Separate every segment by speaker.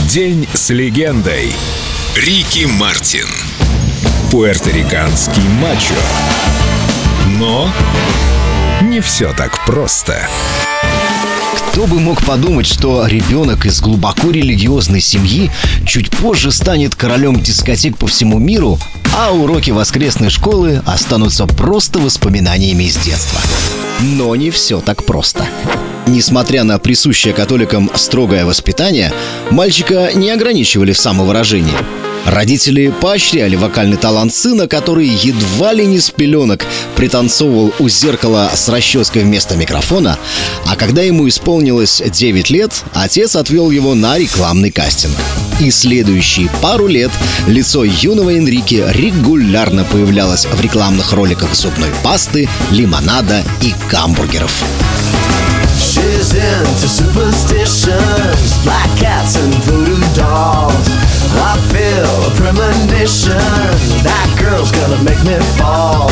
Speaker 1: День с легендой. Рики Мартин. Пуэрториканский мачо. Но не все так просто.
Speaker 2: Кто бы мог подумать, что ребенок из глубоко религиозной семьи чуть позже станет королем дискотек по всему миру, а уроки воскресной школы останутся просто воспоминаниями из детства. Но не все так просто. Несмотря на присущее католикам строгое воспитание, мальчика не ограничивали в самовыражении. Родители поощряли вокальный талант сына, который едва ли не с пеленок пританцовывал у зеркала с расческой вместо микрофона, а когда ему исполнилось 9 лет, отец отвел его на рекламный кастинг. И следующие пару лет лицо юного Энрике регулярно появлялось в рекламных роликах зубной пасты, лимонада и гамбургеров.
Speaker 3: She's into superstitions, black cats and voodoo dolls. I feel a premonition, that girl's gonna make me fall.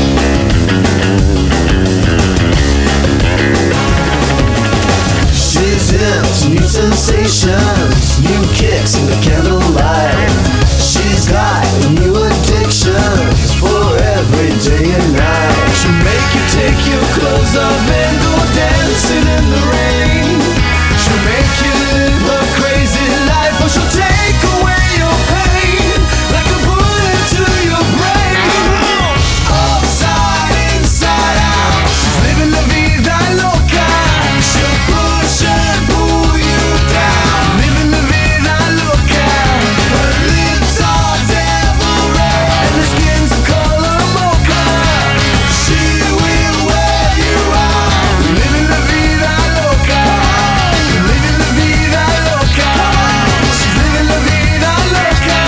Speaker 3: She's into new sensations, new kicks in the candlelight. She's got new addictions for every day and night. She'll make you take your clothes off and go dancing in the rain. She'll make you live a crazy life, or she'll take away your pain like a bullet to your brain. Upside, inside out, she's living la vida loca. She'll push and pull you down, living la vida loca. Her lips are devil red and her skin's a color mocha. She will wear you out, living la vida loca, living la vida loca. She's living la vida loca.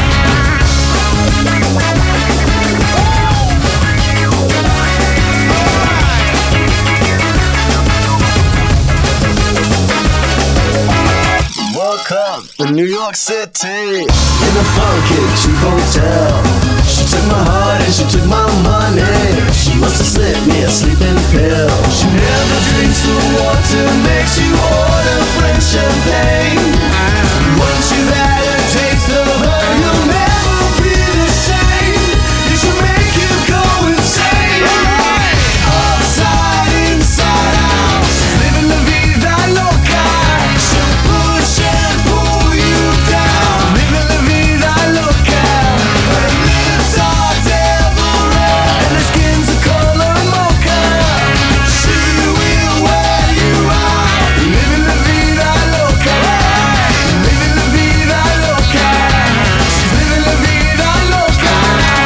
Speaker 3: Woke up in New York City in a funky cheap hotel. She took my heart and she took my money. She must have slipped me a sleeping pill. She never drinks the water, makes you order French champagne. Once you've had a taste of her, you'll never be the same. You should make you go insane. Upside, inside out, she's living la vida loca. She'll push and pull you down, living la vida loca. Her lips are devil red and her skin's a color mocha. She will wear you out, living la vida loca, living la vida loca. She's living la vida loca.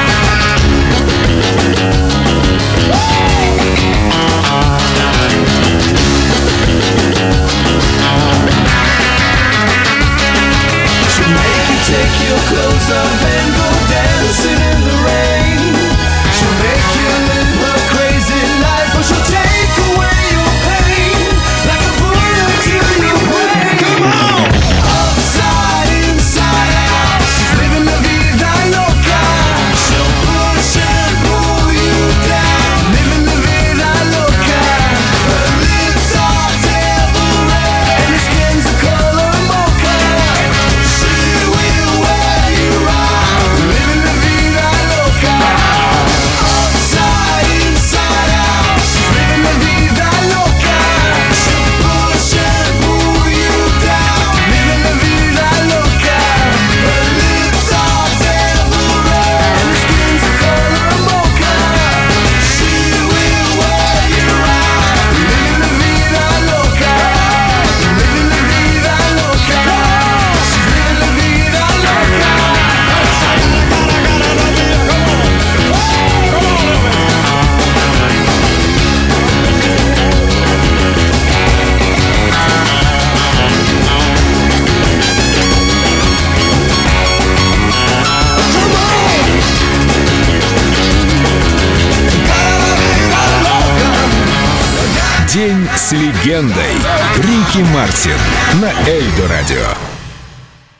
Speaker 3: She'll make you take your clothes off and go dancing in the rain. She'll make you live a crazy life, or she'll take away your pain like a bullet to your brain. Come on! Upside, inside out, she's living la vida loca. She'll push and pull you down, living la vida loca. Her lips are devil red and her skin's a color mocha. She will wear you out, living la vida loca. Upside, inside out, she's living la vida loca. She'll push and pull you down, living la vida loca. Her lips are devil red and her skin's a color mocha. She will wear you out, living la vida loca, living la vida loca. She's living la vida loca.
Speaker 1: День с легендой. Рики Мартин на Эльдо Радио.